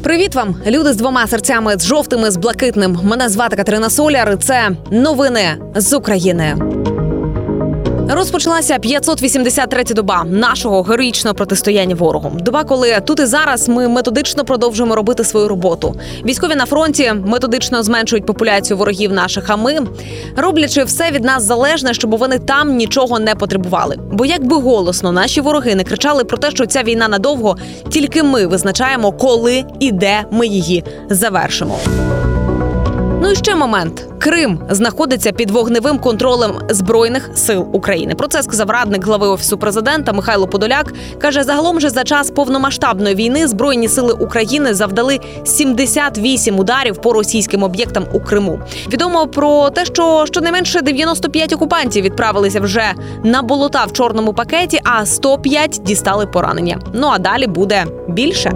Привіт вам, люди з двома серцями, з жовтими, з блакитним. Мене звати Катерина Соляр, і це новини з України. Розпочалася 583-я доба нашого героїчного протистояння ворогу. Доба, коли тут і зараз ми методично продовжуємо робити свою роботу. Військові на фронті методично зменшують популяцію ворогів наших, а ми, роблячи все від нас залежне, щоб вони там нічого не потребували. Бо якби голосно наші вороги не кричали про те, що ця війна надовго, тільки ми визначаємо, коли і де ми її завершимо. Ну і ще момент. Крим знаходиться під вогневим контролем Збройних сил України. Про це сказав радник глави Офісу президента Михайло Подоляк. Каже, загалом же за час повномасштабної війни Збройні сили України завдали 78 ударів по російським об'єктам у Криму. Відомо про те, що щонайменше 95 окупантів відправилися вже на болота в чорному пакеті, а 105 дістали поранення. Ну а далі буде більше.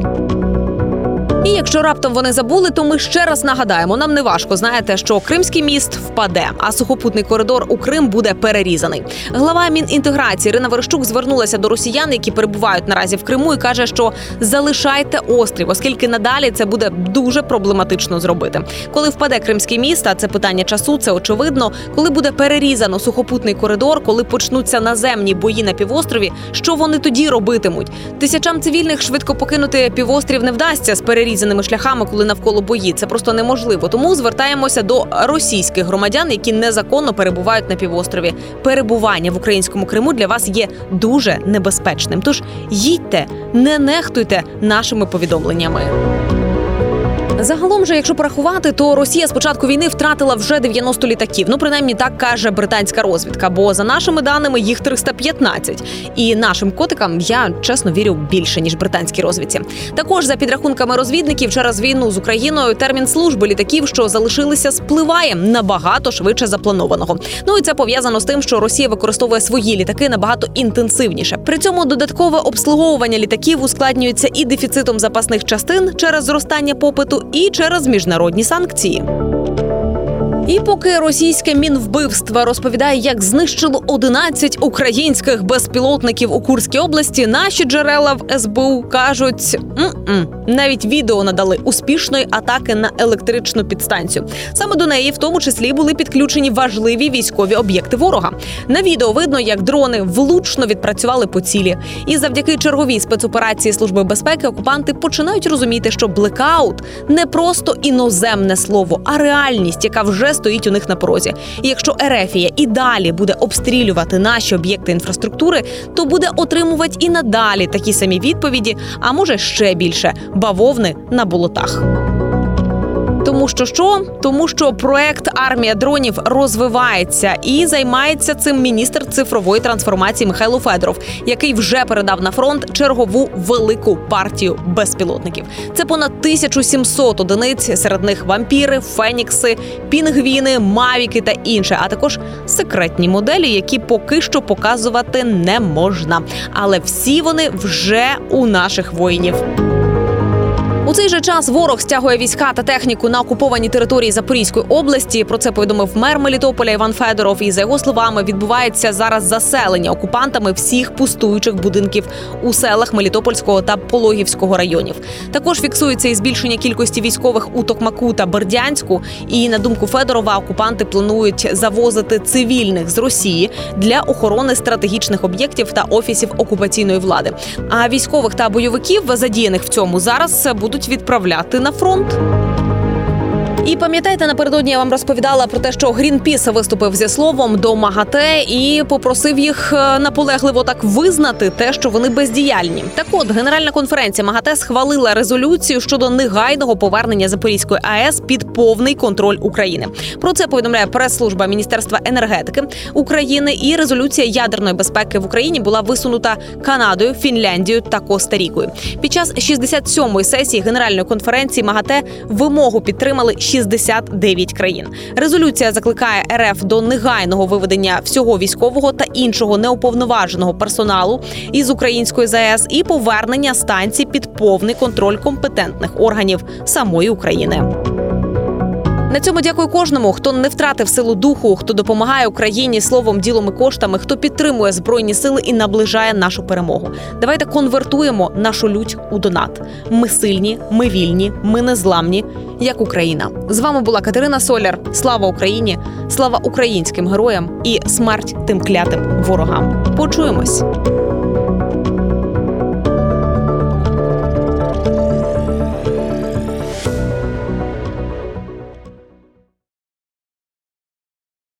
І якщо раптом вони забули, то ми ще раз нагадаємо, нам не важко, знаєте, що Кримський міст впаде, а сухопутний коридор у Крим буде перерізаний. Глава Мінінтеграції Ірина Верещук звернулася до росіян, які перебувають наразі в Криму, і каже, що залишайте острів, оскільки надалі це буде дуже проблематично зробити. Коли впаде Кримський міст, а це питання часу, це очевидно, коли буде перерізано сухопутний коридор, коли почнуться наземні бої на півострові, що вони тоді робитимуть? Тисячам цивільних швидко покинути півострів не вдасться з перерізаними шляхами, коли навколо бої. Це просто неможливо. Тому звертаємося до російських громадян, які незаконно перебувають на півострові. Перебування в українському Криму для вас є дуже небезпечним. Тож їдьте, не нехтуйте нашими повідомленнями. Загалом же, якщо порахувати, то Росія з початку війни втратила вже 90 літаків. Ну, принаймні, так каже британська розвідка. Бо, за нашими даними, їх 315. І нашим котикам, я, чесно, вірю більше, ніж британській розвідці. Також, за підрахунками розвідників, через війну з Україною термін служби літаків, що залишилися, спливає набагато швидше запланованого. Ну, і це пов'язано з тим, що Росія використовує свої літаки набагато інтенсивніше. При цьому додаткове обслуговування літаків ускладнюється і дефіцитом запасних частин через зростання попиту, і через міжнародні санкції. І поки російське Мінвбивство розповідає, як знищило 11 українських безпілотників у Курській області, наші джерела в СБУ кажуть, навіть відео надали успішної атаки на електричну підстанцію. Саме до неї, в тому числі, були підключені важливі військові об'єкти ворога. На відео видно, як дрони влучно відпрацювали по цілі. І завдяки черговій спецоперації Служби безпеки окупанти починають розуміти, що блекаут – не просто іноземне слово, а реальність, яка вже стоїть у них на порозі. І якщо Ерефія і далі буде обстрілювати наші об'єкти інфраструктури, то буде отримувати і надалі такі самі відповіді, а може ще більше – бавовни на болотах. Тому що проект «Армія дронів» розвивається і займається цим міністр цифрової трансформації Михайло Федоров, який вже передав на фронт чергову велику партію безпілотників. Це понад 1700 одиниць, серед них вампіри, фенікси, пінгвіни, мавіки та інше, а також секретні моделі, які поки що показувати не можна. Але всі вони вже у наших воїнів. У цей же час ворог стягує війська та техніку на окуповані території Запорізької області. Про це повідомив мер Мелітополя Іван Федоров. І, за його словами, відбувається зараз заселення окупантами всіх пустуючих будинків у селах Мелітопольського та Пологівського районів. Також фіксується і збільшення кількості військових у Токмаку та Бердянську. І, на думку Федорова, окупанти планують завозити цивільних з Росії для охорони стратегічних об'єктів та офісів окупаційної влади. А військових та бойовиків, задіяних в цьому, зараз будуть відправляти на фронт. І пам'ятаєте, напередодні я вам розповідала про те, що Грінпіс виступив зі словом до МАГАТЕ і попросив їх наполегливо так визнати те, що вони бездіяльні. Так от, Генеральна конференція МАГАТЕ схвалила резолюцію щодо негайного повернення Запорізької АЕС під повний контроль України. Про це повідомляє прес-служба Міністерства енергетики України, і резолюція ядерної безпеки в Україні була висунута Канадою, Фінляндією та Коста-Рікою. Під час 67-ї сесії Генеральної конференції МАГАТЕ вимогу підтримали 69 країн. Резолюція закликає РФ до негайного виведення всього військового та іншого неуповноваженого персоналу із української ЗАЕС і повернення станцій під повний контроль компетентних органів самої України. На цьому дякую кожному, хто не втратив силу духу, хто допомагає Україні словом, ділом і коштами, хто підтримує Збройні сили і наближає нашу перемогу. Давайте конвертуємо нашу лють у донат. Ми сильні, ми вільні, ми незламні, як Україна. З вами була Катерина Соляр. Слава Україні, слава українським героям і смерть тим клятим ворогам. Почуємось!